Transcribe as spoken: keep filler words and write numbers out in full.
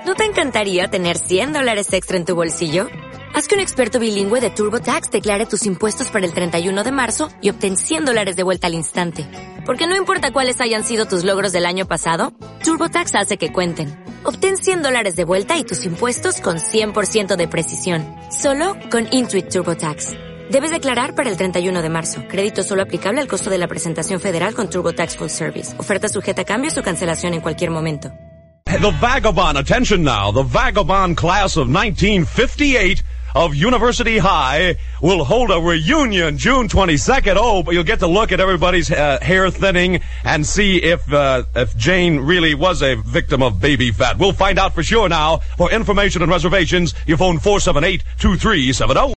¿No te encantaría tener cien dólares extra en tu bolsillo? Haz que un experto bilingüe de TurboTax declare tus impuestos para el treinta y uno de marzo y obtén cien dólares de vuelta al instante. Porque no importa cuáles hayan sido tus logros del año pasado, TurboTax hace que cuenten. Obtén cien dólares de vuelta y tus impuestos con cien por ciento de precisión. Solo con Intuit TurboTax. Debes declarar para el treinta y uno de marzo. Crédito solo aplicable al costo de la presentación federal con TurboTax Full Service. Oferta sujeta a cambios o cancelación en cualquier momento. The Vagabond, attention now, the Vagabond class of nineteen fifty-eight of University High will hold a reunion June twenty-second. Oh, but you'll get to look at everybody's uh, hair thinning and see if uh, if Jane really was a victim of baby fat. We'll find out for sure now. For information and reservations, you phone four seven eight, two three seven zero.